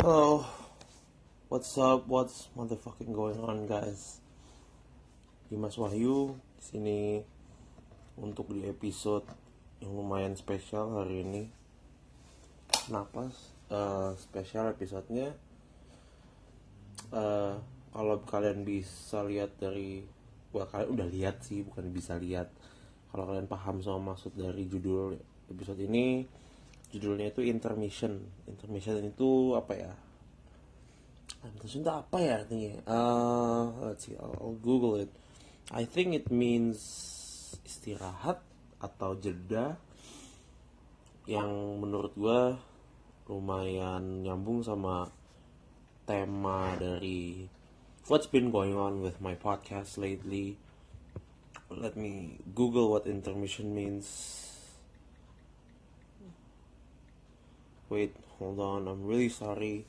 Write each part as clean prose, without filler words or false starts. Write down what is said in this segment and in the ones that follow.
Hello, what's up? What's motherfucking going on, guys? Dimas Wahyu di sini untuk di episode yang lumayan spesial hari ini. Kenapa spesial episodenya? Kalau kalian bisa lihat dari, kalian udah lihat sih, bukan bisa lihat. Kalau kalian paham sama maksud dari judul episode ini, judulnya itu intermission. Intermission itu apa ya? Intermission itu apa ya artinya? Let's see, I'll Google it. I think it means istirahat atau jeda, yang menurut gue lumayan nyambung sama tema dari what's been going on with my podcast lately. Let me Google what intermission means. Wait, hold on, I'm really sorry.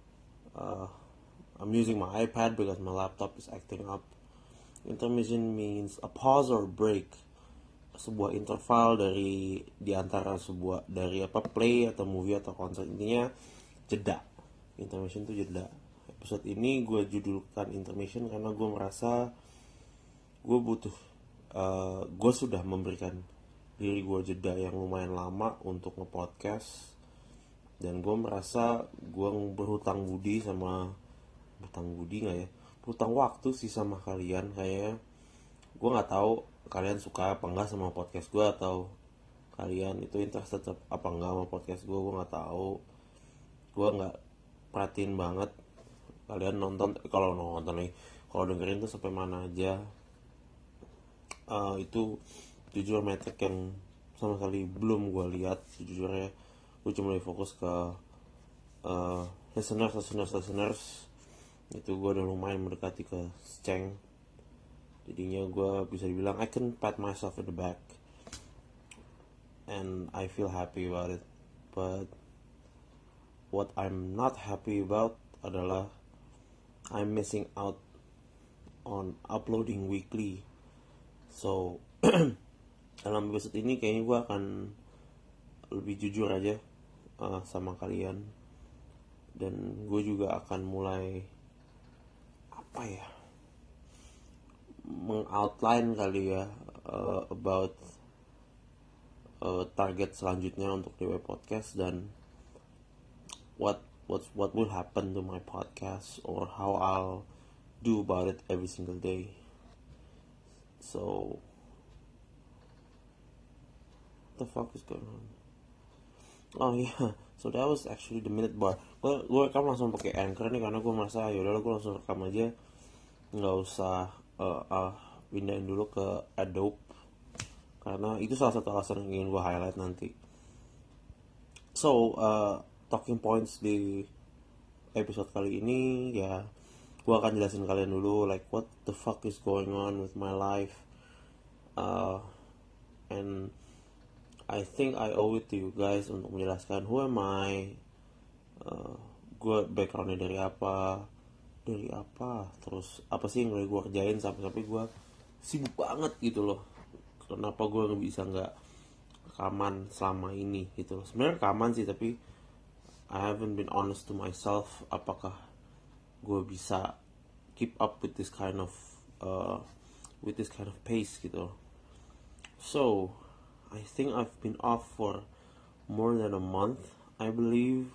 I'm using my iPad because my laptop is acting up. Intermission means a pause or break, sebuah interval dari diantara sebuah dari play atau movie atau konser, intinya jeda. Intermission itu jeda. Episode ini gue judulkan intermission karena gue merasa gue butuh gue sudah memberikan diri gue jeda yang lumayan lama untuk nge-podcast, dan gue merasa gue berhutang budi berhutang waktu sih sama kalian. Kayaknya gue nggak tahu kalian suka apa enggak sama podcast gue, atau kalian itu interested apa enggak sama podcast gue nggak tahu. Gue nggak perhatiin banget kalian kalau dengerin tuh sampai mana aja. Itu jujur metrik yang sama sekali belum gue lihat sejujurnya. Gue cuma lebih fokus ke listeners. Itu gue udah lumayan mendekati ke Ceng, jadinya gue bisa dibilang I can pat myself in the back and I feel happy about it. But what I'm not happy about adalah I'm missing out on uploading weekly. So dalam episode ini kayaknya gue akan lebih jujur aja sama kalian, dan gue juga akan mulai meng-outline kali ya about target selanjutnya untuk DW Podcast, dan what will happen to my podcast, or how I'll do about it every single day. So what the fuck is going on? Oh yeah, so that was actually the minute bar. Gue rekam langsung pakai Anchor nih karena gue merasa yaudah gue langsung rekam aja, nggak usah pindahin dulu ke Adobe, karena itu salah satu alasan yang ingin gue highlight nanti. So talking points di episode kali ini ya, gue akan jelasin kalian dulu like what the fuck is going on with my life, and I think I owe it to you guys untuk menjelaskan who am I, gue backgroundnya dari apa, terus apa sih yang gue kerjain sampai gue sibuk banget gitu loh. Kenapa gue nggak rekaman selama ini gitu loh. Sebenarnya rekaman sih, tapi I haven't been honest to myself apakah gue bisa keep up with this kind of pace gitu. So I think I've been off for more than a month, I believe,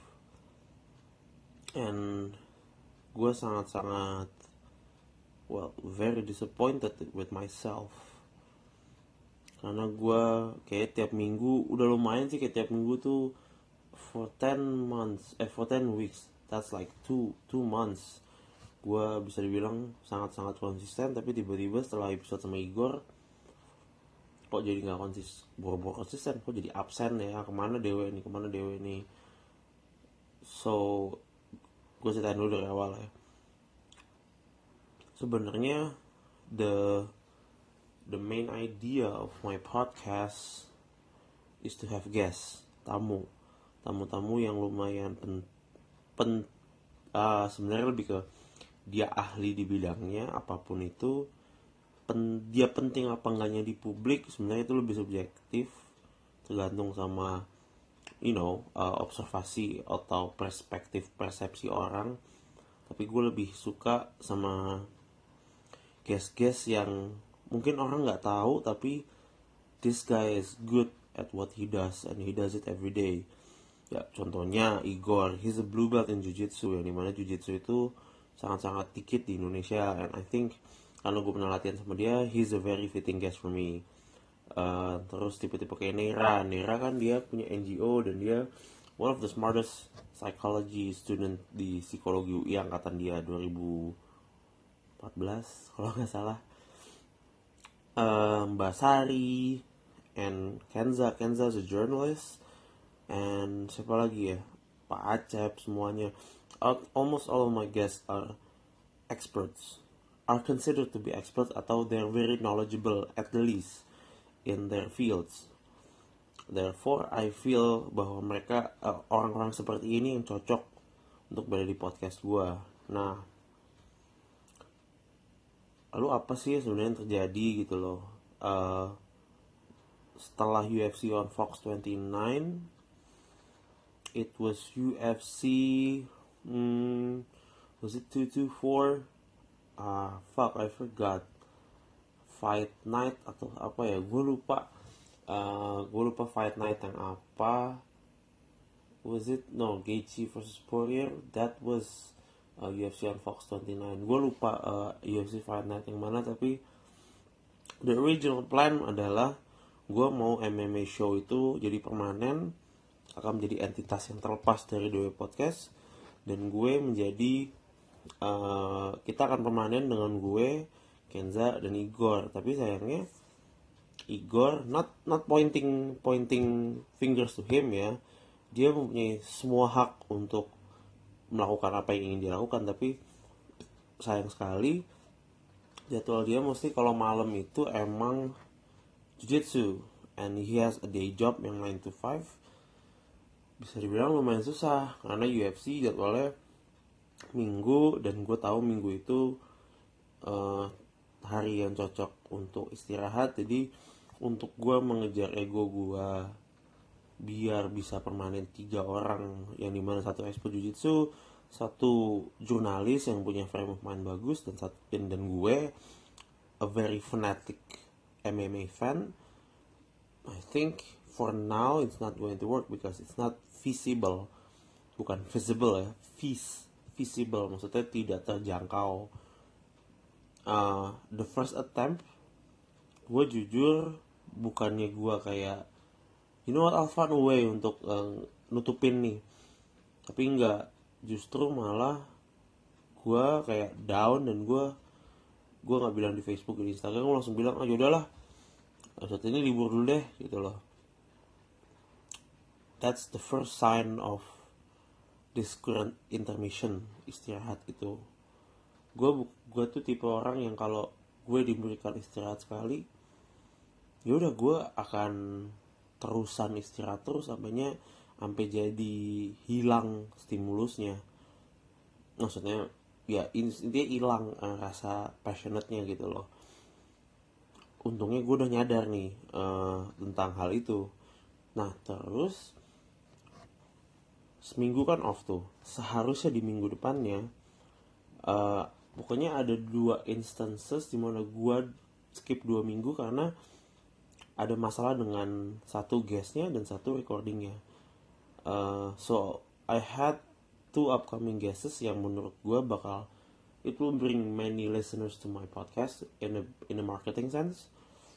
and gue sangat very disappointed with myself, karena gue kayak tiap minggu udah lumayan sih, kayak tiap minggu tuh for 10 weeks, that's like 2 months gue bisa dibilang sangat konsisten. Tapi tiba-tiba setelah episode sama Igor, kok jadi nggak konsisten, kok jadi absen ya, kemana dewe nih. So gue ceritain dulu dari awal ya. Sebenarnya the main idea of my podcast is to have guests, tamu yang lumayan sebenarnya lebih ke dia ahli di bidangnya apapun itu. Dia penting apa enggaknya di publik sebenarnya itu lebih subjektif, tergantung sama observasi atau perspektif persepsi orang, tapi gue lebih suka sama guest-guest yang mungkin orang nggak tahu, tapi this guy is good at what he does and he does it every day. Ya, contohnya Igor, he's a blue belt in Jiu-Jitsu, yang dimana Jiu-Jitsu itu sangat-sangat dikit di Indonesia, and I think karena gue pernah latihan sama dia, he's a very fitting guest for me. Terus tipe-tipe kayak Nera kan dia punya NGO dan dia one of the smartest psychology student di psikologi UI angkatan dia 2014 kalau nggak salah. Mbak Sari and Kenza is a journalist, and siapa lagi ya, Pak Acep, semuanya. Almost all of my guests are experts, are considered to be experts, atau they're very knowledgeable at the least in their fields. Therefore, I feel bahwa mereka orang-orang seperti ini yang cocok untuk berada di podcast gue. Nah, lalu apa sih sebenarnya yang terjadi gitu loh? Setelah UFC on Fox 29, it was UFC, was it 224? I forgot. Fight Night atau apa ya, gue lupa fight night yang apa. Was it Gaethje versus Poirier? That was UFC on Fox 29. Gue lupa UFC fight night yang mana, tapi the original plan adalah gue mau MMA show itu jadi permanen, akan menjadi entitas yang terlepas dari dua podcast, dan gue menjadi kita akan permanen dengan gue, Kenza, dan Igor. Tapi sayangnya Igor, not pointing fingers to him ya, dia mempunyai semua hak untuk melakukan apa yang ingin dia lakukan, tapi sayang sekali jadwal dia mesti kalau malam itu emang jiu-jitsu, and he has a day job yang 9 to 5. Bisa dibilang lumayan susah karena UFC jadwalnya minggu, dan gue tahu minggu itu hari yang cocok untuk istirahat. Jadi untuk gue mengejar ego gue biar bisa permanen 3 orang, yang dimana satu expert jiu-jitsu, satu jurnalis yang punya frame of mind bagus, dan gue a very fanatic MMA fan. I think for now it's not going to work because it's not feasible. Bukan visible ya, feasible, maksudnya tidak terjangkau. The first attempt, gue jujur bukannya gue kayak I'll find a way untuk nutupin nih, tapi enggak, justru malah gue kayak down, dan gue nggak bilang di Facebook, di Instagram, gue langsung bilang yaudahlah, saat ini libur dulu deh gitu loh. That's the first sign of this current intermission, istirahat itu. Gue tuh tipe orang yang kalau gue diberikan istirahat sekali, yaudah gue akan terusan istirahat terus sampai jadi hilang stimulusnya. Maksudnya ya intinya hilang rasa passionate-nya gitu loh. Untungnya gue udah nyadar nih tentang hal itu. Nah terus seminggu kan off tuh, seharusnya di minggu depannya pokoknya ada 2 instances dimana gue skip 2 minggu karena ada masalah dengan satu guestnya dan satu recordingnya. So I had 2 upcoming guests yang menurut gue bakal, it will bring many listeners to my podcast in a marketing sense.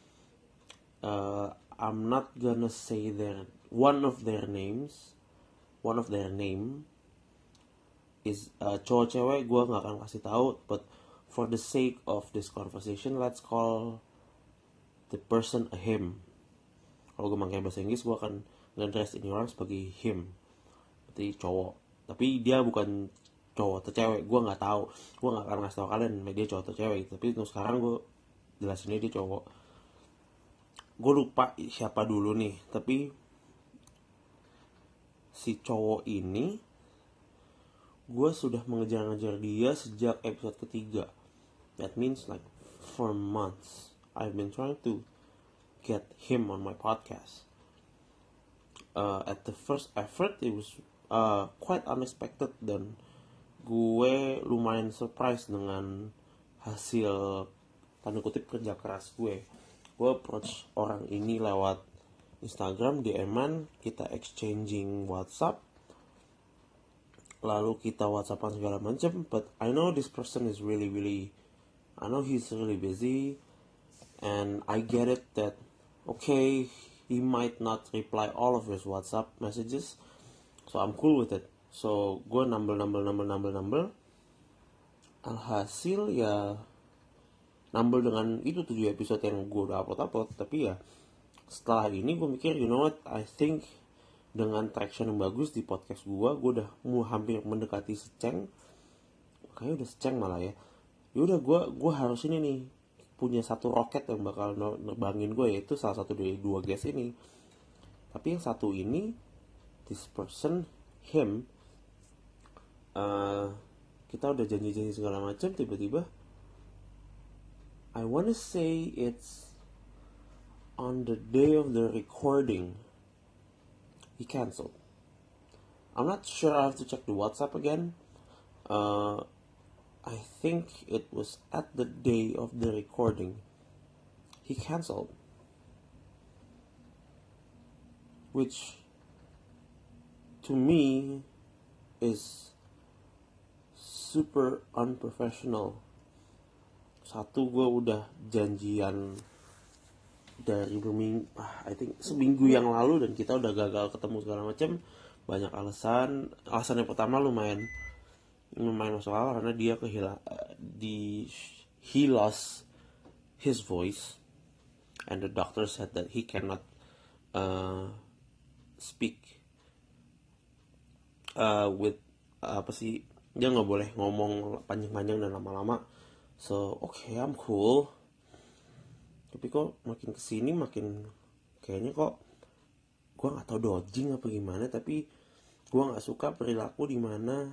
I'm not gonna say one of their name is cowok cewek, gue nggak akan kasih tahu, but for the sake of this conversation, let's call the person a him. Kalau gue pakai bahasa Inggris, gue akan nge-address ini orang sebagai him, berarti cowok. Tapi dia bukan cowok atau cewek, gue nggak tahu. Gue nggak akan ngasih tau kalian dia cowok atau cewek. Tapi untuk sekarang gue jelasinnya dia cowok. Gue lupa siapa dulu nih, tapi si cowok ini gue sudah mengejar-ngejar dia sejak episode ketiga. That means like for months I've been trying to get him on my podcast. at the first effort it was quite unexpected, dan gue lumayan surprise dengan hasil tanda kutip kerja keras gue. Gue approach orang ini lewat Instagram, DM-an, kita exchanging WhatsApp, lalu kita WhatsAppan segala macam. But I know this person is I know he's really busy, and I get it that okay, he might not reply all of his WhatsApp messages, so I'm cool with it. So gue nambel. Alhasil ya nambel dengan itu 7 episode yang gue udah upload. Tapi ya setelah ini gue mikir, you know what, I think dengan traction yang bagus di podcast gue udah hampir mendekati seceng. Kayaknya udah seceng malah ya. Yaudah gue harus ini nih, punya satu roket yang bakal nerbangin gue, yaitu salah satu dari 2 guest ini. Tapi yang satu ini, this person, him, kita udah janji segala macam, tiba-tiba I wanna say it's on the day of the recording he canceled. I'm not sure, I have to check the WhatsApp again. I think it was at the day of the recording he canceled, which to me is super unprofessional. Satu, gue udah janjian dari I think seminggu yang lalu, dan kita udah gagal ketemu segala macam. Banyak alasan yang pertama lumayan masuk akal, karena dia he lost his voice, and the doctor said that he cannot speak with dia nggak boleh ngomong panjang-panjang dan lama-lama. So okay, I'm cool. Tapi kok makin kesini makin kayaknya kok gue nggak tahu dodging apa gimana, tapi gue nggak suka perilaku dimana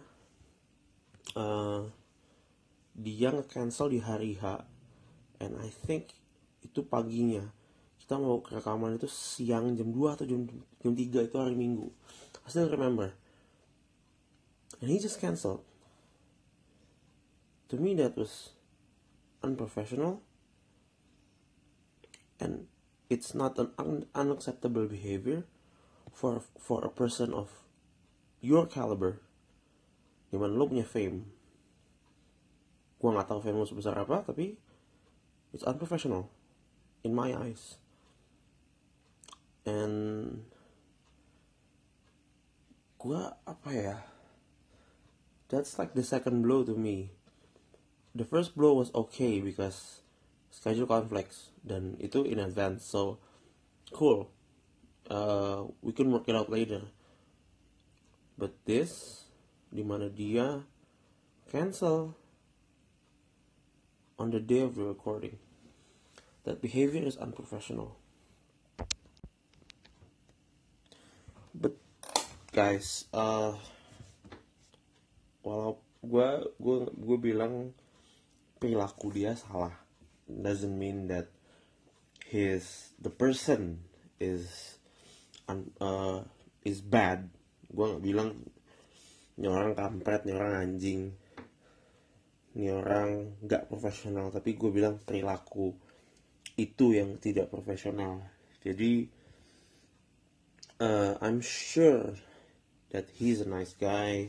dia nge-cancel di hari H, and I think itu paginya. Kita mau rekaman itu siang jam 2 atau jam 3, itu hari Minggu. I still remember. And he just canceled. To me that was unprofessional, and it's not an unacceptable behavior for a person of your caliber, dimana lo punya fame. Gue nggak tahu fame lo sebesar apa, tapi it's unprofessional in my eyes. And gue that's like the second blow to me. The first blow was okay because schedule conflicts, dan itu in advance, so cool, we can work it out later. But this, dimana dia cancel on the day of the recording, that behavior is unprofessional. But guys, walau gue bilang perilaku dia salah, doesn't mean that the person is bad. Gue nggak bilang ini orang kampret, ini orang anjing, ini orang nggak profesional, tapi gue bilang perilaku itu yang tidak profesional. Jadi I'm sure that he's a nice guy.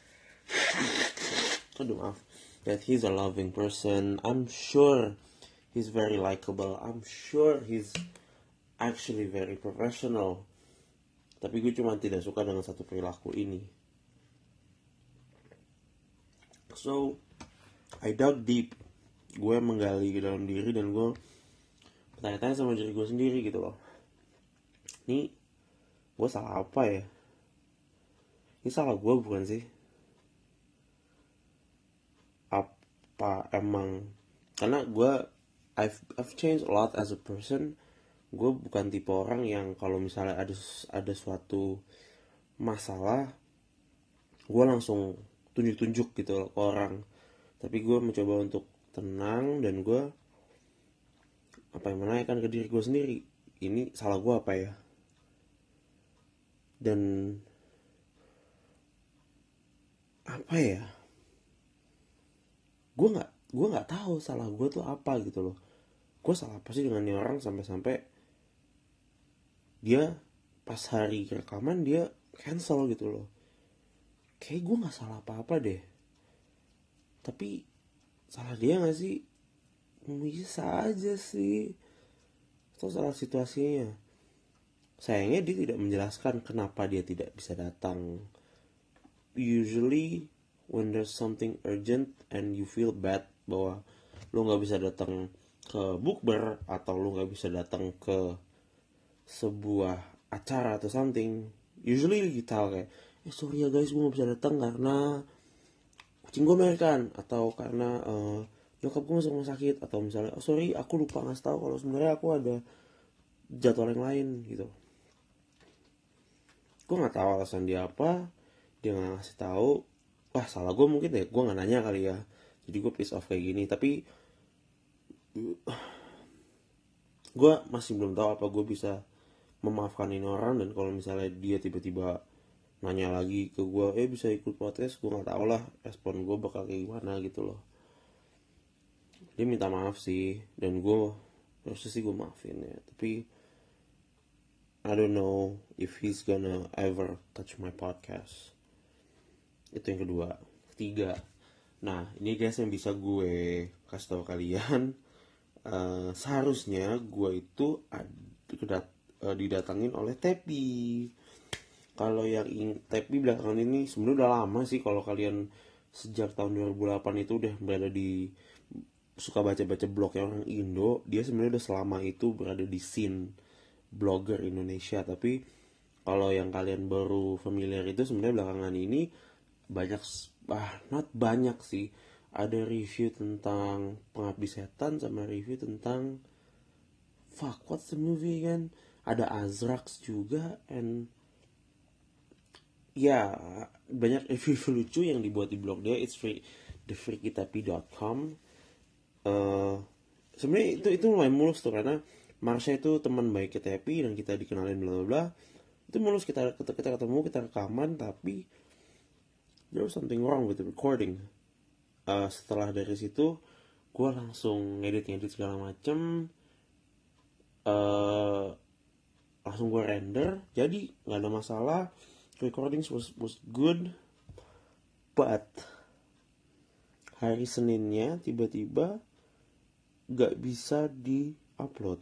Aduh maaf. That he's a loving person. I'm sure he's very likable. I'm sure he's actually very professional. Tapi gue cuma tidak suka dengan satu perilaku ini. So I dug deep. Gue menggali ke dalam diri, dan gue bertanya-tanya sama diri gue sendiri gitu loh. Ini gue salah apa ya? Ini salah gue bukan sih? Apa emang karena I've changed a lot as a person. Gue bukan tipe orang yang kalau misalnya ada suatu masalah gue langsung tunjuk gitu loh ke orang. Tapi gue mencoba untuk tenang, dan gue menanyakan ke diri gue sendiri, ini salah gue apa ya? Dan apa ya, gue nggak tahu salah gue tuh apa gitu loh. Gue salah apa sih dengan nih orang sampai-sampai dia pas hari rekaman dia cancel gitu loh. Kayak gue nggak salah apa-apa deh, tapi salah dia nggak sih? Bisa aja sih, atau salah situasinya. Sayangnya dia tidak menjelaskan kenapa dia tidak bisa datang. Usually when there's something urgent and you feel bad bahwa lu nggak bisa datang ke bukber atau lu nggak bisa datang ke sebuah acara atau something, usually kita kayak sorry ya guys gue nggak bisa datang karena kucing gue melahirkan, atau karena nyokap gue masuk rumah sakit, atau misalnya oh sorry aku lupa ngasih tahu kalau sebenarnya aku ada jadwal yang lain gitu. Gue nggak tahu alasan dia apa, dia nggak ngasih tahu. Wah salah gue mungkin deh, gue nggak nanya kali ya, jadi gue piss off kayak gini. Tapi gue masih belum tahu apa gue bisa memaafkan ini orang. Dan kalau misalnya dia tiba-tiba nanya lagi ke gue bisa ikut podcast, gue nggak tahu lah respon gue bakal kayak gimana gitu loh. Dia minta maaf sih, dan gue harusnya sih gue maafin ya, tapi I don't know if he's gonna ever touch my podcast. Itu yang kedua. Ketiga, nah ini guys yang bisa gue kasih tahu kalian. Seharusnya gue itu didatangin oleh Tepi. Kalau yang Tepi belakangan ini sebenarnya udah lama sih. Kalau kalian sejak tahun 2008 itu udah berada di, suka baca-baca blognya orang Indo, dia sebenarnya udah selama itu berada di scene blogger Indonesia. Tapi kalau yang kalian baru familiar itu sebenarnya belakangan ini banyak, not banyak sih, ada review tentang Pengabdi Setan sama review tentang what's the movie kan, ada Azrax juga, and ya banyak review lucu yang dibuat di blog dia. It's free, thefreakytapi.com. Sebenarnya itu lumayan mulus tuh, karena Marsha itu teman baik kita Happy dan kita dikenalin bla bla bla. Itu mulus, kita ketemu, kita rekaman, tapi there was something wrong with the recording. Setelah dari situ gue langsung ngedit segala macem, langsung gue render, jadi nggak ada masalah. Recording was good, but hari Seninnya tiba-tiba nggak bisa di upload.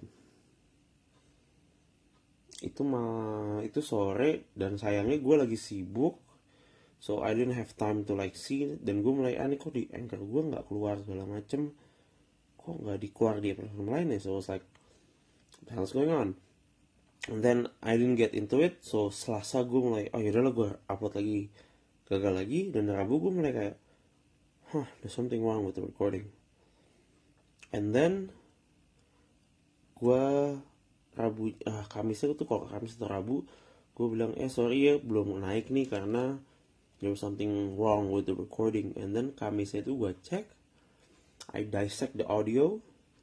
Itu sore, dan sayangnya gue lagi sibuk, so I didn't have time to like see. Dan gue mulai aneh, kok di Anchor gue nggak keluar segala macem, kok nggak dikeluar di platform lain ya. So I was like, what the hell's going on? And then I didn't get into it. So Selasa gue mulai, oh yaudahlah gue upload lagi, gagal lagi. Dan Rabu gue mulai kayak, there's something wrong with the recording. And then gue Kamisnya tuh, kalau Kamis atau Rabu gue bilang sorry ya belum naik nih karena there was something wrong with the recording. And then Kamisnya itu gue cek, I dissect the audio.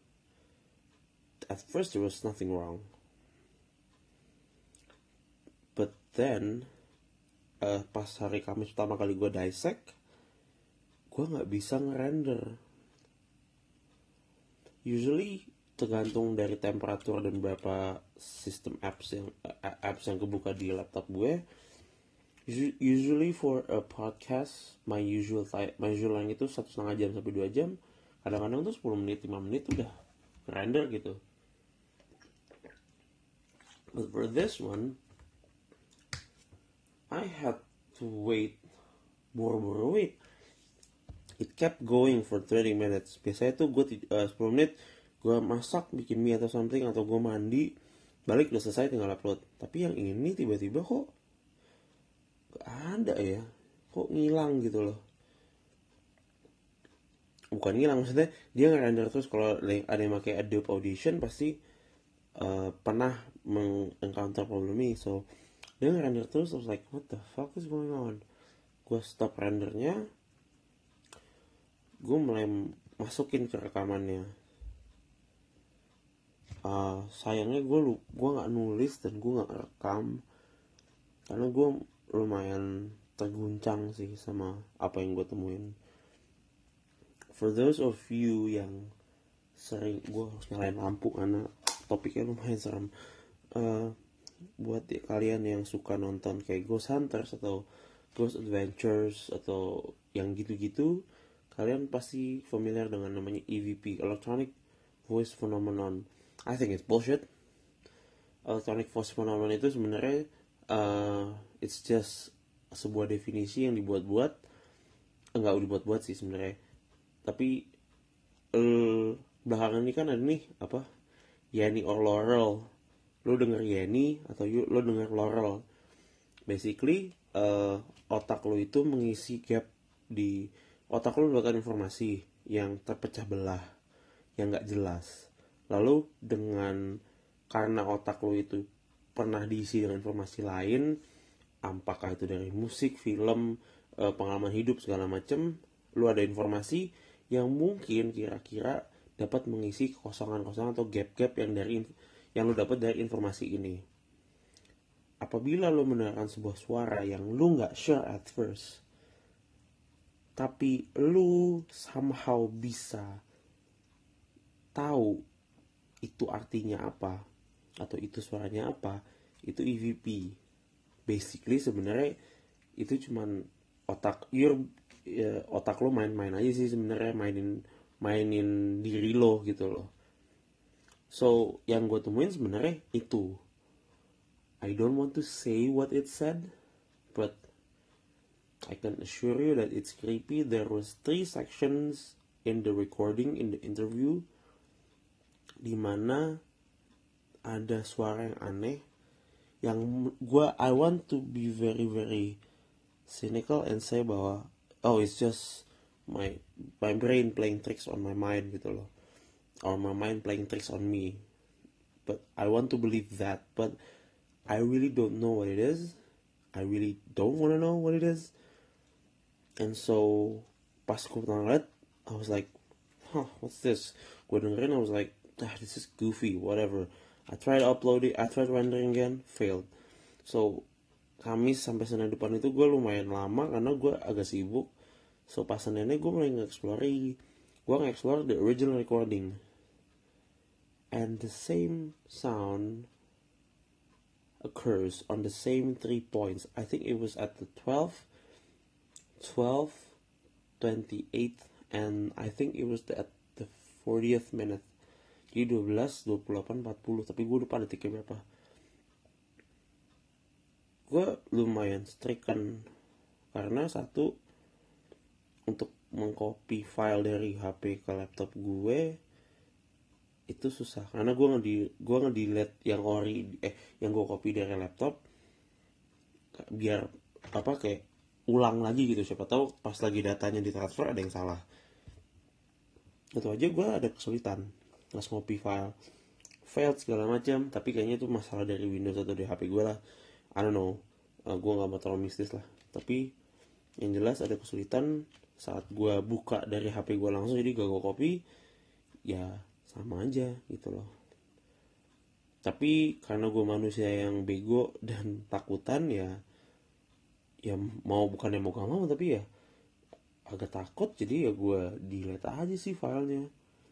At first there was nothing wrong, but then pas hari Kamis pertama kali gue dissect, gue nggak bisa ngerender. Usually tergantung dari temperatur dan berapa sistem apps yang kebuka di laptop gue. Usually for a podcast, my usual line itu 1,5 jam sampai 2 jam. Kadang-kadang tuh 10 menit, 5 menit udah render gitu. But for this one, I had to wait, buru-buru wait. It kept going for 30 minutes. Biasanya tuh gue 10 menit gue masak, bikin mie atau something, atau gue mandi, balik udah selesai tinggal upload. Tapi yang ini tiba-tiba kok gak ada ya, kok ngilang gitu loh. Bukan ngilang, maksudnya dia nge-render terus. Kalau ada yang pakai Adobe Audition pasti pernah encounter problem ini. So dia nge-render terus. I was like, what the fuck is going on? Gue stop rendernya, gue mulai masukin ke rekamannya. Sayangnya gue nggak nulis dan gue nggak rekam. karena gue lumayan terguncang sih sama apa yang gue temuin. For those of you yang sering, gue harus nyalain lampu karena topiknya lumayan serem. Buat kalian yang suka nonton kayak Ghost Hunters atau Ghost Adventures atau yang gitu-gitu, kalian pasti familiar dengan namanya EVP, Electronic Voice Phenomenon. I think it's bullshit. Electronic Voice Phenomenon itu sebenarnya it's just sebuah definisi yang dibuat-buat, enggak dibuat-buat sih sebenarnya, tapi belakangan ini kan ada nih apa, Yanny or Laurel. Lo denger Yanny atau lo denger Laurel. Basically otak lo itu mengisi gap di otak lo, mendapatkan informasi yang terpecah belah, yang nggak jelas. Lalu karena otak lo itu pernah diisi dengan informasi lain, apakah itu dari musik, film, pengalaman hidup segala macem, lo ada informasi yang mungkin kira-kira dapat mengisi kekosongan-kosongan atau gap-gap yang lo dapat dari informasi ini. Apabila lo mendengarkan sebuah suara yang lo nggak sure at first, tapi lo somehow bisa tahu itu artinya apa atau itu suaranya apa, itu EVP. Basically sebenarnya itu cuman otak lo main-main aja sih sebenarnya, mainin diri lo gitu loh. So yang gue temuin sebenarnya itu, I don't want to say what it said, but I can assure you that it's creepy. There was 3 sections in the recording, in the interview, dimana ada suara yang aneh, yang I want to be very very cynical and say bahwa it's just my brain playing tricks on my mind gitu loh, or my mind playing tricks on me. But I want to believe that, but I really don't know what it is. I really don't want to know what it is. And so pas gue ngeliat, I was like, what's this? Gue dengerin, I was like, this is goofy, whatever. I tried uploading, I tried rendering again, failed. So Kamis sampai Senin depan itu gue lumayan lama karena gue agak sibuk. So pas Seninnya gue mulai nge-explore the original recording, and the same sound occurs on the same 3 points. I think it was at the 12, 28th, and I think it was at the 40th minute. Jadi 12, 28, 40, tapi gue lupa detiknya berapa. Gue lumayan stricken karena satu, untuk mengcopy file dari HP ke laptop gue itu susah, karena gue ngedelete yang yang gue copy dari laptop biar kayak ulang lagi gitu, siapa tahu pas lagi datanya ditransfer ada yang salah. Itu aja gue ada kesulitan nge-copy file, failed segala macam, tapi kayaknya itu masalah dari Windows atau dari HP gue lah, I don't know. Gue gak mau terlalu mistis lah, tapi yang jelas ada kesulitan saat gue buka dari HP gue langsung, jadi gak gue copy, ya sama aja gitu loh. Tapi karena gue manusia yang bego dan takutan, ya bukannya mau gak mau, tapi ya agak takut, jadi ya gue delete aja sih filenya.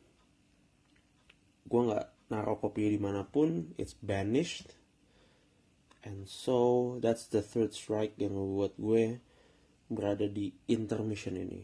Gue nggak naruh kopi dimanapun, it's banished. And so that's the third strike yang membuat gue berada di intermission ini.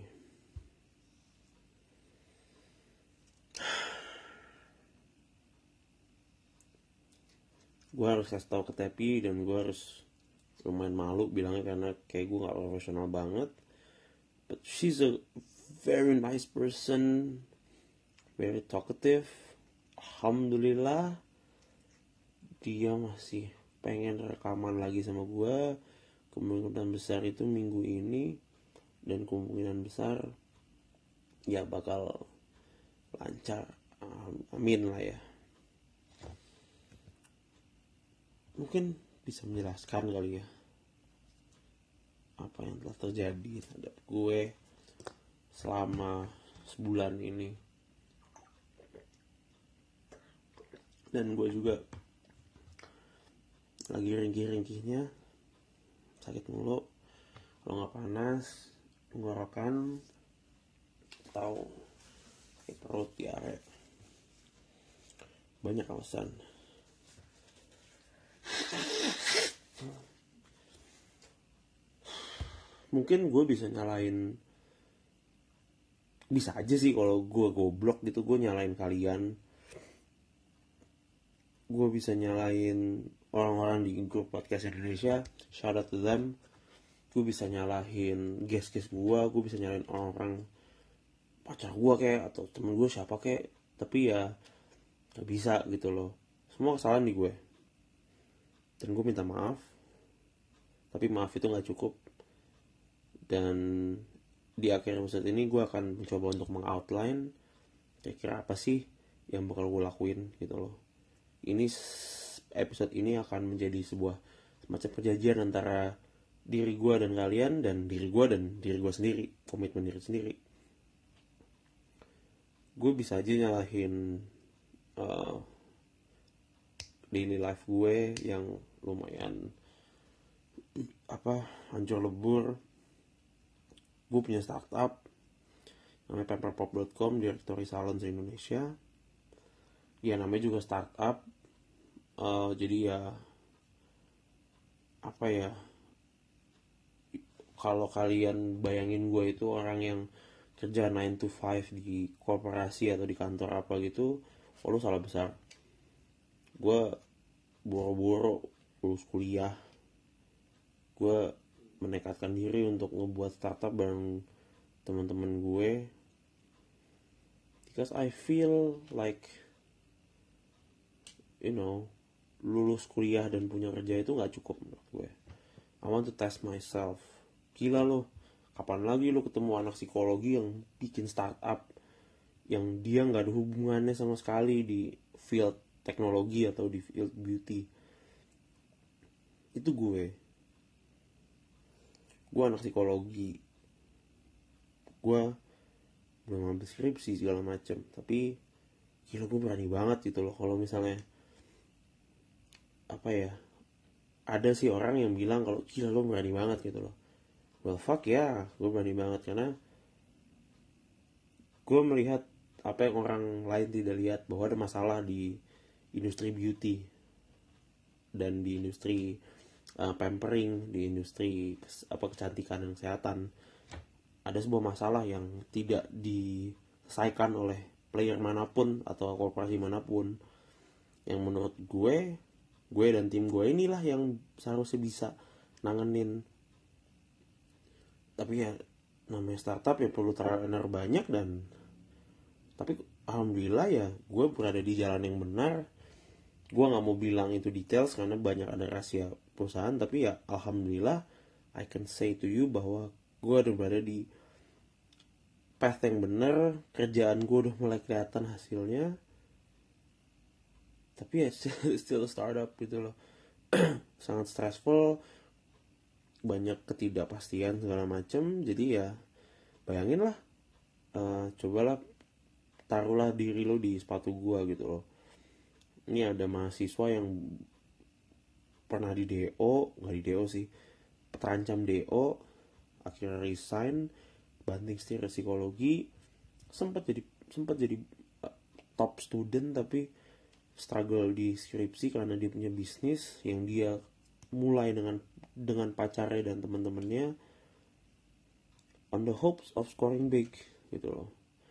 Gue harus kasih tau ke Tepi, dan gue harus lumayan malu bilangnya karena kayak gue gak profesional banget. But she's a very nice person, very talkative. Alhamdulillah dia masih pengen rekaman lagi sama gue. Kemungkinan besar itu minggu ini, dan kemungkinan besar ya bakal lancar, amin lah ya. Mungkin bisa menjelaskan kali ya apa yang telah terjadi terhadap gue selama sebulan ini. Dan gue juga lagi ringkih-ringkihnya sakit mulu. Kalau nggak panas, tenggorokan, atau sakit perut, diare. Banyak alasan. Mungkin gue bisa aja sih kalau gue goblok gitu, gue nyalain kalian. Gue bisa nyalain orang-orang di grup podcast Indonesia, shout out to them. Gue bisa nyalahin guest-guest gue bisa nyalain orang-orang pacar gue kayak, atau temen gue siapa kayak. Tapi ya gak bisa gitu loh, semua kesalahan di gue. Dan gue minta maaf, tapi maaf itu gak cukup. Dan di akhir episode ini gue akan mencoba untuk meng-outline kira-kira apa sih yang bakal gue lakuin gitu loh. Episode ini akan menjadi sebuah semacam perjanjian antara diri gue dan kalian, dan diri gue sendiri, komitmen diri sendiri. Gue bisa aja nyalahin daily life gue yang lumayan hancur lebur. Gue punya startup namanya paperpop.com, directory salon se-Indonesia. Ya namanya juga startup. Jadi ya kalau kalian bayangin gue itu orang yang kerja 9 to 5 di korporasi atau di kantor apa gitu, lu salah besar. Gue boro-boro lulus kuliah, gue menekatkan diri untuk ngebuat startup bareng teman-teman gue, because I feel like lulus kuliah dan punya kerja itu nggak cukup menurut gue. I want to test myself. Gila lo, kapan lagi lo ketemu anak psikologi yang bikin startup yang dia nggak ada hubungannya sama sekali di field teknologi atau di field beauty. Itu gue anak psikologi, gue belum ngambil skripsi segala macam, tapi gila gue berani banget gitu loh. Kalau misalnya ada sih orang yang bilang kalau gila lo berani banget gitu loh. Well fuck ya, gue berani banget karena gue melihat apa yang orang lain tidak lihat, bahwa ada masalah di industri beauty dan di industri pampering, di industri kecantikan dan kesehatan. Ada sebuah masalah yang tidak diselesaikan oleh player manapun atau korporasi manapun, yang menurut gue dan tim gue inilah yang seharusnya bisa nanganin. Tapi ya namanya startup ya perlu trainer banyak, tapi alhamdulillah ya gue berada di jalan yang benar. Gue gak mau bilang itu details karena banyak ada rahasia perusahaan, tapi ya alhamdulillah I can say to you bahwa gue udah berada di path yang benar. Kerjaan gue udah mulai kelihatan hasilnya, tapi ya still startup gitu loh. Sangat stressful, banyak ketidakpastian segala macam. Jadi ya bayangin lah, cobalah taruhlah diri lo di sepatu gue gitu loh. Ini ada mahasiswa yang pernah di DO, nggak di DO sih, terancam DO, akhirnya resign, banting setir psikologi, sempat jadi top student, tapi struggle di skripsi karena dia punya bisnis yang dia mulai dengan pacarnya dan teman-temannya on the hopes of scoring big gitu loh.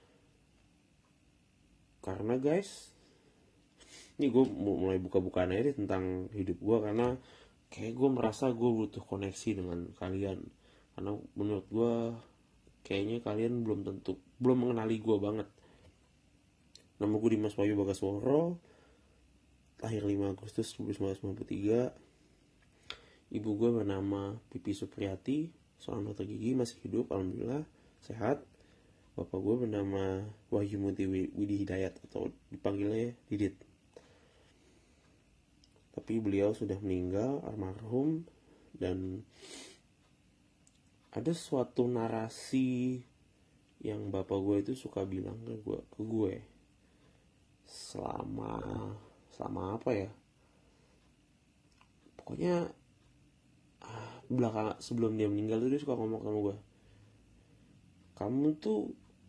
Karena guys, ini gue mulai buka-bukaan aja deh tentang hidup gue, karena kayak gue merasa gue butuh koneksi dengan kalian. Karena menurut gue kayaknya kalian belum mengenali gue banget. Nama gue Dimas Wahyu Bagasworo, lahir 5 Agustus 1993. Ibu gue bernama Pipi Supriyati, seorang dokter gigi, masih hidup alhamdulillah, sehat. Bapak gue bernama Wahyu Muti Widi Hidayat, atau dipanggilnya Didit. Tapi beliau sudah meninggal, almarhum. Dan ada suatu narasi yang bapak gue itu suka bilang ke gue selama apa ya, pokoknya belakang sebelum dia meninggal tuh dia suka ngomong sama gue, kamu tuh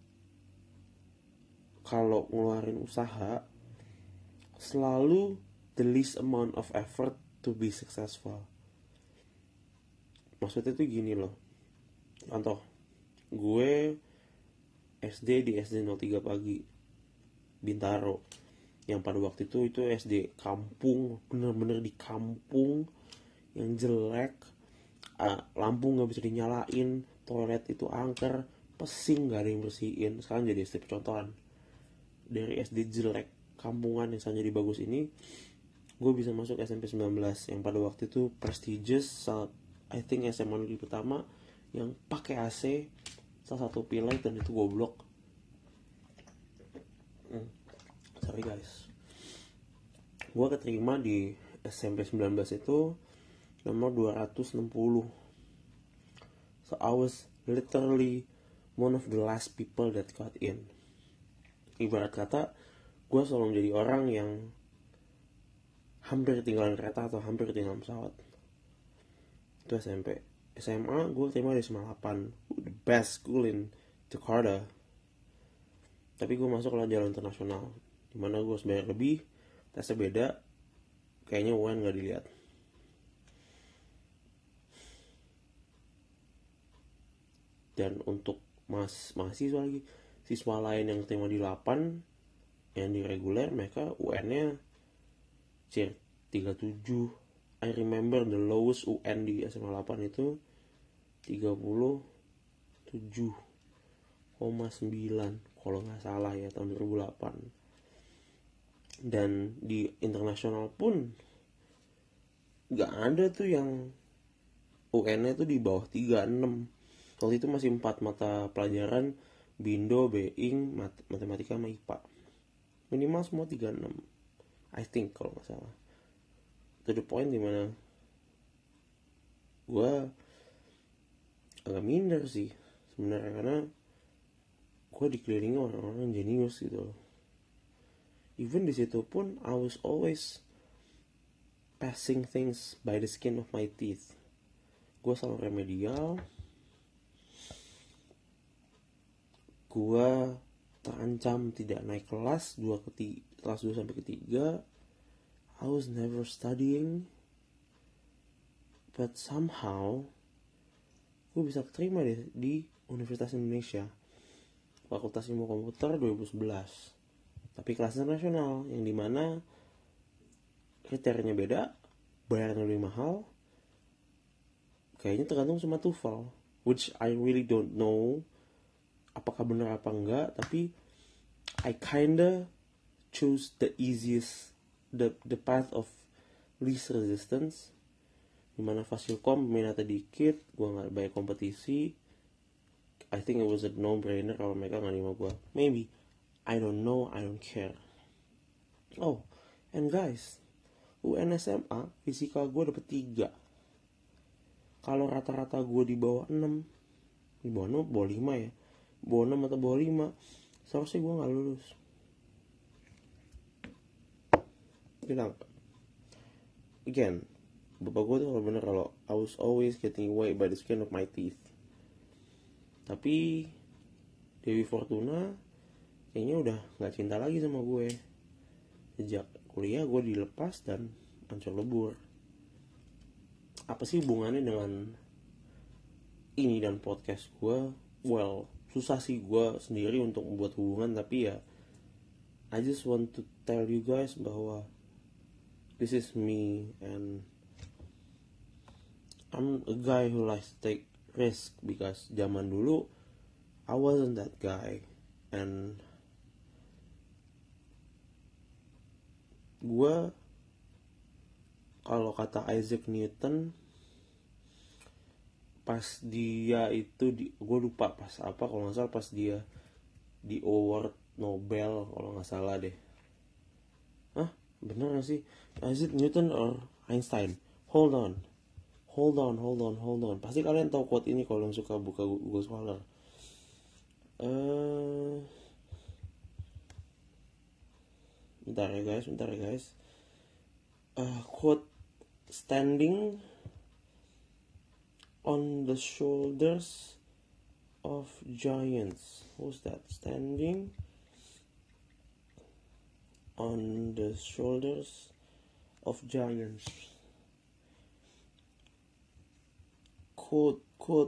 kalau ngeluarin usaha selalu the least amount of effort to be successful. Maksudnya tuh gini loh, contoh gue SD di SD 03 pagi Bintaro, yang pada waktu itu SD kampung, bener-bener di kampung yang jelek, lampu nggak bisa dinyalain, toilet itu angker, pesing nggak ada yang bersihin. Sekarang jadi SD percontohan. Dari SD jelek kampungan yang sangat jadi bagus ini, gue bisa masuk SMP 19 yang pada waktu itu prestigious, I think SMA negeri pertama yang pakai AC, salah satu pilot, dan itu goblok. Sorry guys. Gue keterima di SMP 19 itu nomor 260. So I was literally one of the last people that got in. Ibarat kata, gue selalu menjadi orang yang hampir ketinggalan kereta atau hampir ketinggalan pesawat. Itu SMP. SMA gue terima di SMA 8, the best school in Jakarta. Tapi gue masuk lah jalur internasional, dimana gue harus bayar lebih, tesnya beda, kayaknya UN gak dilihat. Dan untuk mahasiswa lagi, siswa lain yang terima di 8, yang di reguler, mereka UN-nya 37. I remember the lowest UN di SMA 8 itu 37,9 kalau nggak salah ya, tahun 2008. Dan di internasional pun nggak ada tuh yang UN-nya tuh di bawah 36. Waktu itu masih 4 mata pelajaran, Bindo, Being, Matematika sama IPA. Minimal semua 36, I think kalau nggak salah. To the point dimana gue agak minder sih sebenarnya, karena gue dikelilingi orang-orang jenius gitu. Even di situ pun I was always passing things by the skin of my teeth. Gue selalu remedial. Gue terancam tidak naik kelas kelas 2 sampai ketiga. I was never studying, but somehow gue bisa keterima di Universitas Indonesia, Fakultas Ilmu Komputer 2011. Tapi kelas internasional, yang dimana kriterianya beda, bayarnya lebih mahal. Kayaknya tergantung sama TOEFL, which I really don't know apakah benar apa enggak, tapi I kinda choose the easiest, the path of least resistance, dimana Fasilkom minatnya dikit, gue gak banyak kompetisi. I think it was a no-brainer kalau mereka gak nerima gue. Maybe, I don't know, I don't care. Oh, and guys, UN SMA fisika gue dapet 3. Kalau rata-rata gue di bawah 6, di bawah 6, bawah 5 ya, bawah 6 atau bawah 5, seharusnya gue gak lulus. Bilang again, bapak gue tuh bener kalau I was always getting away by the skin of my teeth. Tapi Dewi Fortuna kayaknya udah gak cinta lagi sama gue. Sejak kuliah gue dilepas dan hancur lebur. Apa sih hubungannya dengan ini dan podcast gue? Well, susah sih gue sendiri untuk membuat hubungan, tapi ya I just want to tell you guys bahwa this is me, and I'm a guy who likes to take risk, because zaman dulu I wasn't that guy. And gue, kalau kata Isaac Newton, pas dia itu gue lupa pas apa, kalau nggak salah pas dia di award Nobel kalau nggak salah deh. Bener gak sih? Isaac Newton or Einstein? Hold on. Pasti kalian tahu quote ini kalau yang suka buka Google Scholar. Bentar ya guys. Quote, standing on the shoulders of giants. Who's that? Standing on the shoulders of giants. Quote.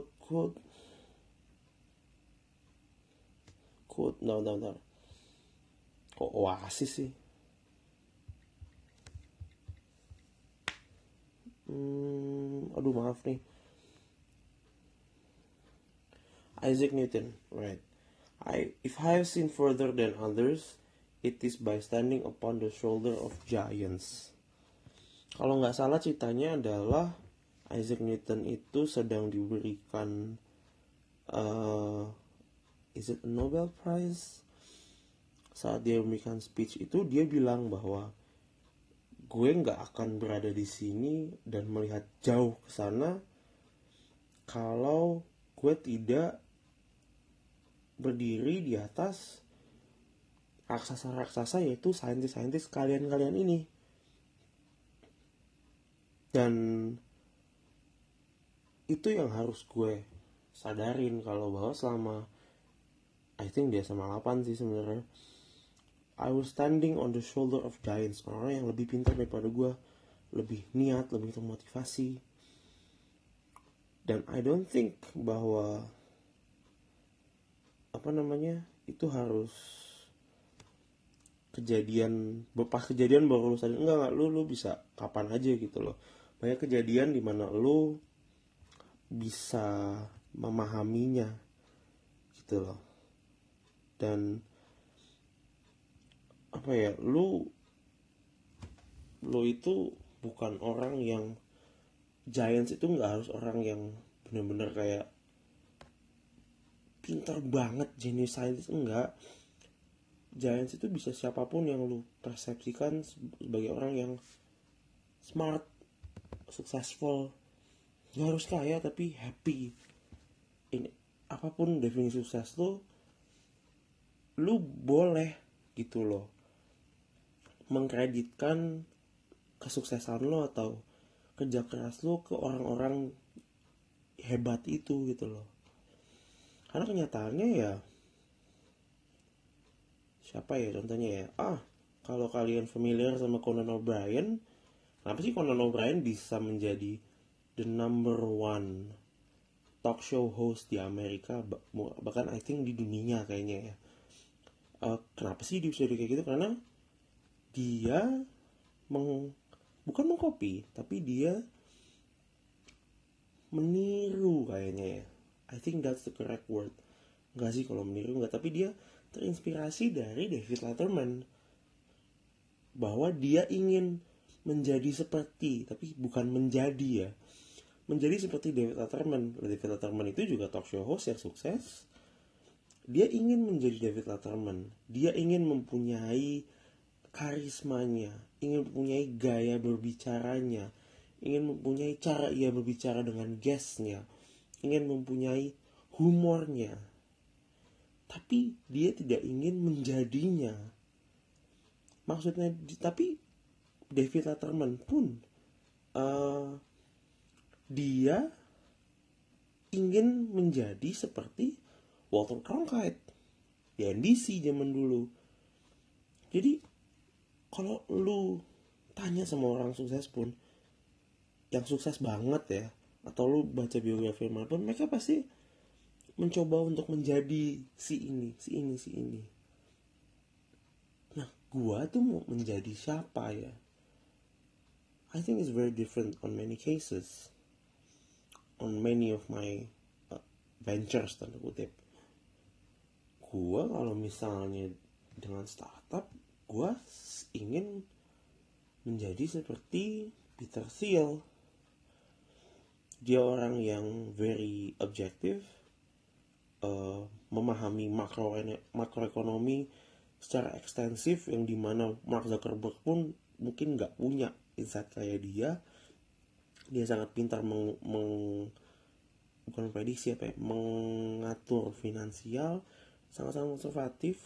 Bentar. Kok Oasis sih? Aduh maaf nih. Isaac Newton, right. If I have seen further than others, it is by standing upon the shoulder of giants. Kalau nggak salah ceritanya adalah Isaac Newton itu sedang diberikan is it a Nobel Prize? Saat dia memberikan speech itu dia bilang bahwa gue nggak akan berada di sini dan melihat jauh ke sana kalau gue tidak berdiri di atas raksasa-raksasa, yaitu saintis-saintis kalian-kalian ini. Dan itu yang harus gue sadarin, kalau bahwa selama I think dia sama 8 sih sebenarnya, I was standing on the shoulder of giants, orang-orang yang lebih pintar daripada gue, lebih niat, lebih termotivasi. Dan I don't think bahwa itu harus kejadian baru lu sadar. Enggak, lu bisa kapan aja gitu loh. Banyak kejadian dimana lu bisa memahaminya gitu loh. Dan lu itu bukan orang yang giants itu nggak harus orang yang benar-benar kayak pintar banget, genius scientist, enggak. Giants itu bisa siapapun yang lu persepsikan sebagai orang yang smart, successful. Gak harus kaya tapi happy. Ini apapun definisi sukses lu boleh gitu loh mengkreditkan kesuksesan lo atau kerja keras lo ke orang-orang hebat itu gitu loh. Karena kenyataannya ya, siapa ya contohnya ya? Kalau kalian familiar sama Conan O'Brien, kenapa sih Conan O'Brien bisa menjadi the number one talk show host di Amerika, bahkan I think di dunia kayaknya ya? Kenapa sih dia bisa kayak gitu? Karena dia bukan mengcopy, tapi dia meniru kayaknya ya. I think that's the correct word. Enggak sih kalau meniru enggak, tapi dia terinspirasi dari David Letterman, bahwa dia ingin menjadi seperti, tapi bukan menjadi ya, menjadi seperti David Letterman. David Letterman itu juga talk show host yang sukses. Dia ingin menjadi David Letterman. Dia ingin mempunyai karismanya, ingin mempunyai gaya berbicaranya, ingin mempunyai cara ia berbicara dengan guestnya, ingin mempunyai humornya. Tapi dia tidak ingin menjadinya. Maksudnya, tapi David Letterman pun dia ingin menjadi seperti Walter Cronkite di NBC zaman dulu. Jadi kalau lu tanya sama orang sukses pun, yang sukses banget ya, atau lu baca biografi manapun, mereka pasti mencoba untuk menjadi si ini. Nah, gua tuh mau menjadi siapa ya? I think it's very different on many cases, on many of my ventures, tanda kutip. Gua kalau misalnya dengan startup, gua ingin menjadi seperti Peter Thiel. Dia orang yang very objective, memahami makroekonomi secara ekstensif, yang dimana Mark Zuckerberg pun mungkin nggak punya insight kayak dia. Dia sangat pintar bukan prediksi mengatur finansial, sangat-sangat konservatif.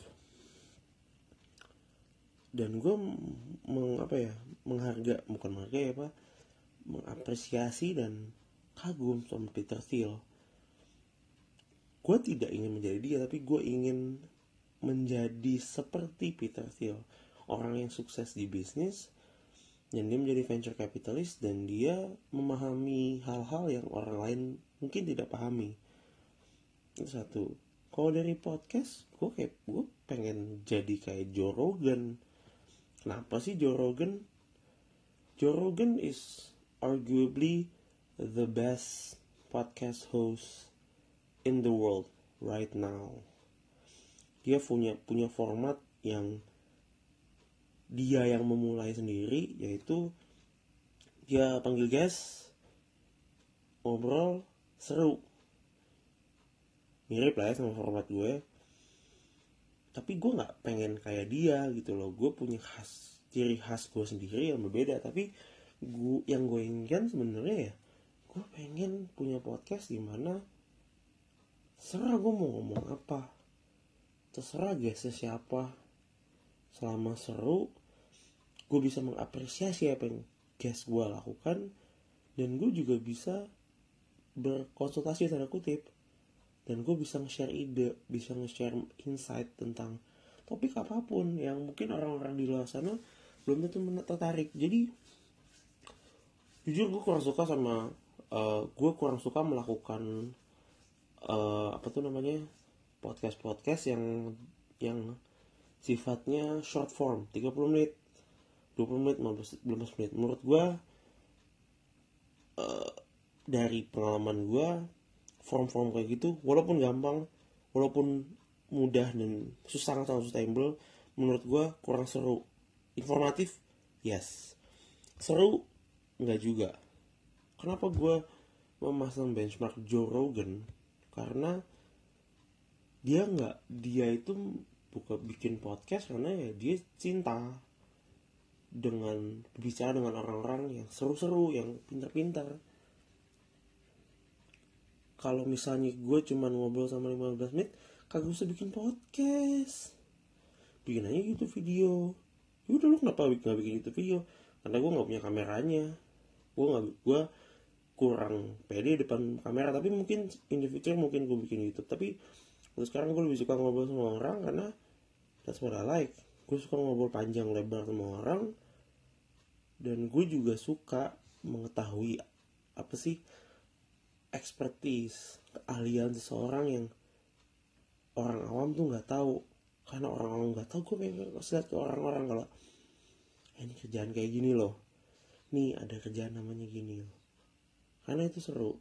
Dan gue mengapresiasi dan kagum sama Peter Thiel. Gue tidak ingin menjadi dia, tapi gue ingin menjadi seperti Peter Thiel, orang yang sukses di bisnis, dan dia menjadi venture capitalist, dan dia memahami hal-hal yang orang lain mungkin tidak pahami. Itu satu. Kalau dari podcast, gue pengen jadi kayak Joe Rogan. Kenapa sih Joe Rogan? Joe Rogan is arguably the best podcast host in the world right now. Dia punya format yang dia yang memulai sendiri, yaitu dia panggil guest, ngobrol, seru. Mirip lah ya sama format gue. Tapi gue gak pengen kayak dia gitu loh. Gue punya ciri khas gue sendiri yang berbeda. Tapi yang gue inginkan sebenarnya ya, gue pengen punya podcast dimana terserah gue mau ngomong apa, terserah guestnya siapa. Selama seru, gue bisa mengapresiasi apa yang guest gue lakukan, dan gue juga bisa berkonsultasi tanda kutip, dan gue bisa nge-share ide, bisa nge-share insight tentang topik apapun yang mungkin orang-orang di luar sana belum tentu tertarik. Jadi jujur gue kurang suka sama melakukan podcast yang sifatnya short form, 30 menit, 20 menit, 15 menit. Menurut gue dari pengalaman gue, form-form kayak gitu walaupun gampang, walaupun mudah dan sangat sustainable, menurut gue kurang seru. Informatif, yes. Seru, enggak juga. Kenapa gue memasang benchmark Joe Rogan? Karena dia itu bukan bikin podcast karena ya dia cinta dengan berbicara dengan orang-orang yang seru-seru, yang pintar-pintar. Kalau misalnya gue cuma ngobrol sama 15 menit, kagak usah bikin podcast. Bikin aja gitu video. Yaudah, lu kenapa gak bikin itu video? Karena gue gak punya kameranya. Gue kurang pede depan kamera. Tapi mungkin in the future mungkin gue bikin YouTube. Tapi untuk sekarang gue lebih suka ngobrol sama orang karena that's what I like. Gue suka ngobrol panjang lebar sama orang. Dan gue juga suka mengetahui apa sih expertise, keahlian seseorang yang orang awam tuh gak tahu. Karena orang awam gak tahu, gue pengen lihat ke orang-orang kalau ini kerjaan kayak gini loh, nih ada kerjaan namanya gini loh. Karena itu seru.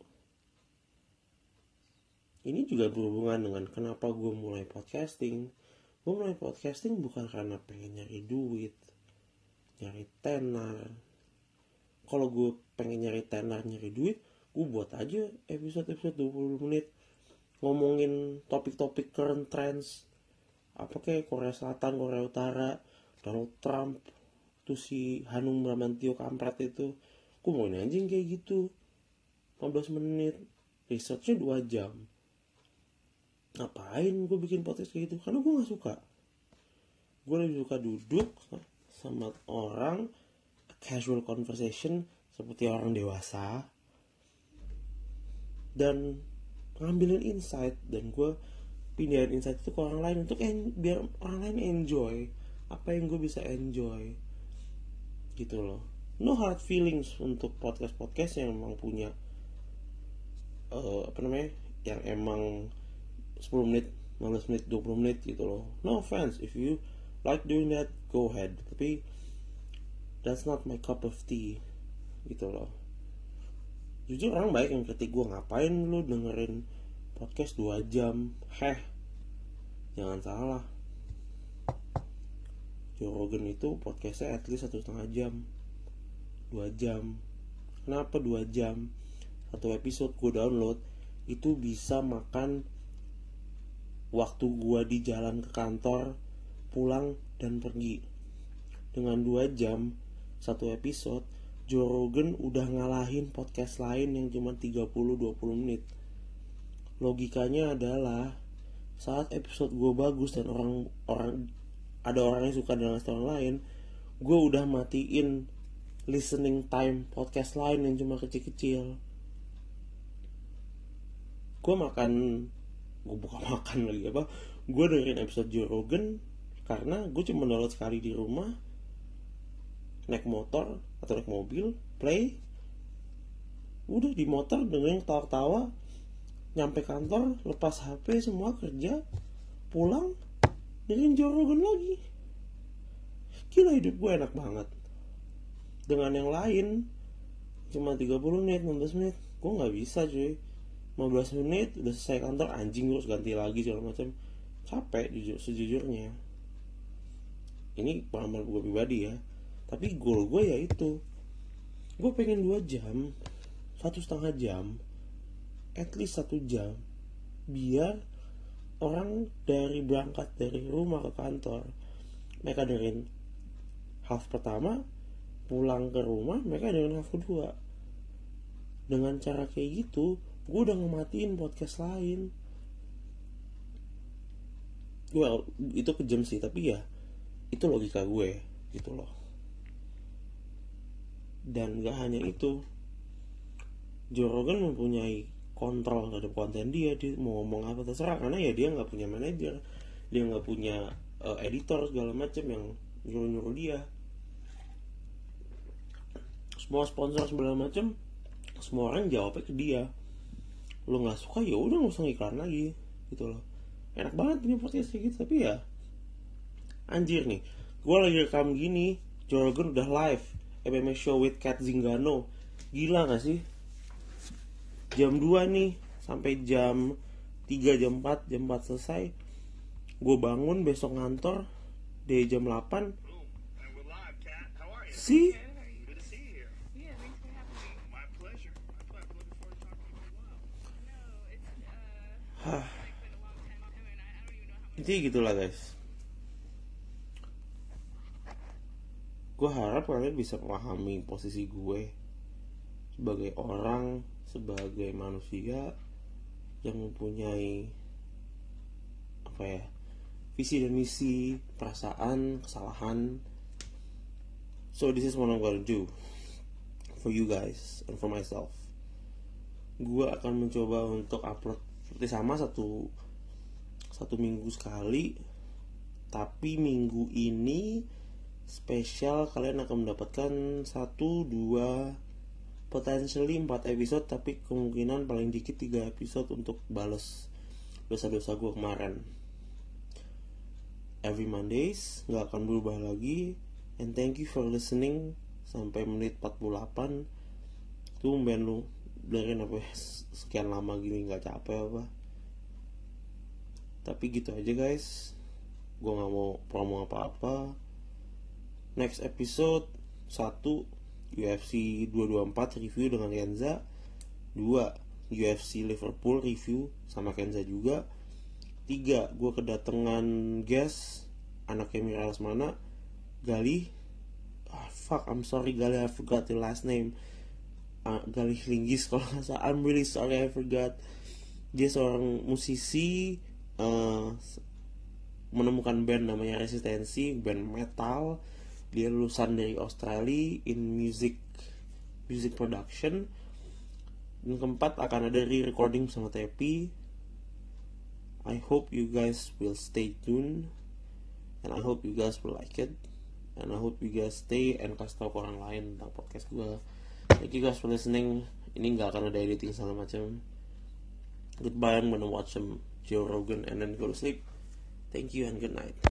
Ini juga berhubungan dengan kenapa gue mulai podcasting. Gue mulai podcasting bukan karena pengen nyari duit, nyari tenar. Kalau gue pengen nyari tenar, nyari duit, gue buat aja episode 20 menit ngomongin topik-topik current trends, apa kayak Korea Selatan, Korea Utara, Donald Trump, tuh si Hanung Bramantio kampret itu. Gue mau anjing kayak gitu, 15 menit, researchnya 2 jam. Ngapain gue bikin podcast kayak gitu? Karena gue gak suka. Gue lebih suka duduk sama orang, casual conversation seperti orang dewasa, dan ngambilin insight, dan gue pindahin insight itu ke orang lain untuk biar orang lain enjoy apa yang gue bisa enjoy gitu loh. No hard feelings untuk podcast yang emang punya yang emang 10 menit, 15 menit, 20 menit gitu loh. No offense, if you like doing that, go ahead. Tapi that's not my cup of tea gitu loh. Jujur orang baik yang kritik gue, ngapain lu dengerin podcast 2 jam. Jangan salah, Joe Rogan itu podcastnya at least 1,5 jam, 2 jam. Kenapa 2 jam? Satu episode gue download itu bisa makan waktu gue di jalan ke kantor, pulang dan pergi. Dengan 2 jam satu episode, Joe Rogan udah ngalahin podcast lain yang cuma 30-20 menit. Logikanya adalah saat episode gue bagus dan ada orang yang suka dengan orang lain, gue udah matiin listening time podcast lain yang cuma kecil-kecil. gue bukan makan lagi apa, gue dengerin episode Joe Rogan karena gue cuma download sekali di rumah, naik motor atau naik mobil, play, udah di motor dengerin tawa-tawa, nyampe kantor lepas HP semua, kerja pulang dengerin Joe Rogan lagi. Gila, hidup gue enak banget. Dengan yang lain cuma 30 menit, 15 menit, gue gak bisa cuy. 15 menit udah selesai kantor, anjing terus ganti lagi segala macam. Capek sejujurnya. Ini pengalaman gue pribadi ya. Tapi goal gue ya itu, gue pengen 2 jam, 1,5 jam, at least 1 jam, biar orang berangkat dari rumah ke kantor, mereka dengerin half pertama, pulang ke rumah mereka dengerin half kedua. Dengan cara kayak gitu, gue udah ngematiin podcast lain. Well, itu kejam sih, tapi ya itu logika gue gitu loh. Dan gak hanya itu, Joe Rogan mempunyai kontrol terhadap konten dia mau ngomong apa terserah, karena ya dia nggak punya manajer, dia nggak punya editor segala macam yang nyuruh dia. Semua sponsor segala macam, semua orang jawabnya ke dia. Lo nggak suka ya udah nggak usah iklan lagi gitu loh. Enak banget punya podcast kayak gitu. Tapi ya anjir nih, gue lagi rekam gini, Joe Rogan udah live MMA show with Kat Zingano. Gila gak sih? Jam 2 nih sampai jam 3, jam 4 selesai. Gue bangun besok ngantor dari jam 8. See? Intinya gitulah guys. Gue harap kalian bisa memahami posisi gue sebagai orang, sebagai manusia yang mempunyai visi dan misi, perasaan, kesalahan. So this is what I'm gonna do for you guys and for myself. Gue akan mencoba untuk upload seperti sama satu minggu sekali. Tapi minggu ini spesial, kalian akan mendapatkan 1, 2, potentially 4 episode, tapi kemungkinan paling dikit 3 episode untuk bales dosa-dosa gue kemarin. Every Mondays gak akan berubah lagi. And thank you for listening sampai menit 48. Tumben lu dengerin apa sekian lama gini, gak capek apa. Tapi gitu aja guys, gue gak mau promo apa-apa. Next episode 1 UFC 224 review dengan Kenza. 2 UFC Liverpool review sama Kenza juga. 3 gue kedatangan guest anaknya Mira Lesmana, Galih. I'm sorry Galih, I forgot your last name. Galih Linggis kalau gak salah. I'm really sorry, I forgot. Dia seorang musisi, menemukan band namanya Resistensi, band metal. Dia lulusan dari Australia in music production. Dan keempat akan ada re-recording sama Tepi. I hope you guys will stay tuned, and I hope you guys will like it, and I hope you guys stay and kasih tau ke orang lain tentang podcast gue. Thank you guys for listening. Ini gak akan ada editing segala macam. Goodbye, I'm gonna watch some Joe Rogan and then go to sleep. Thank you and good night.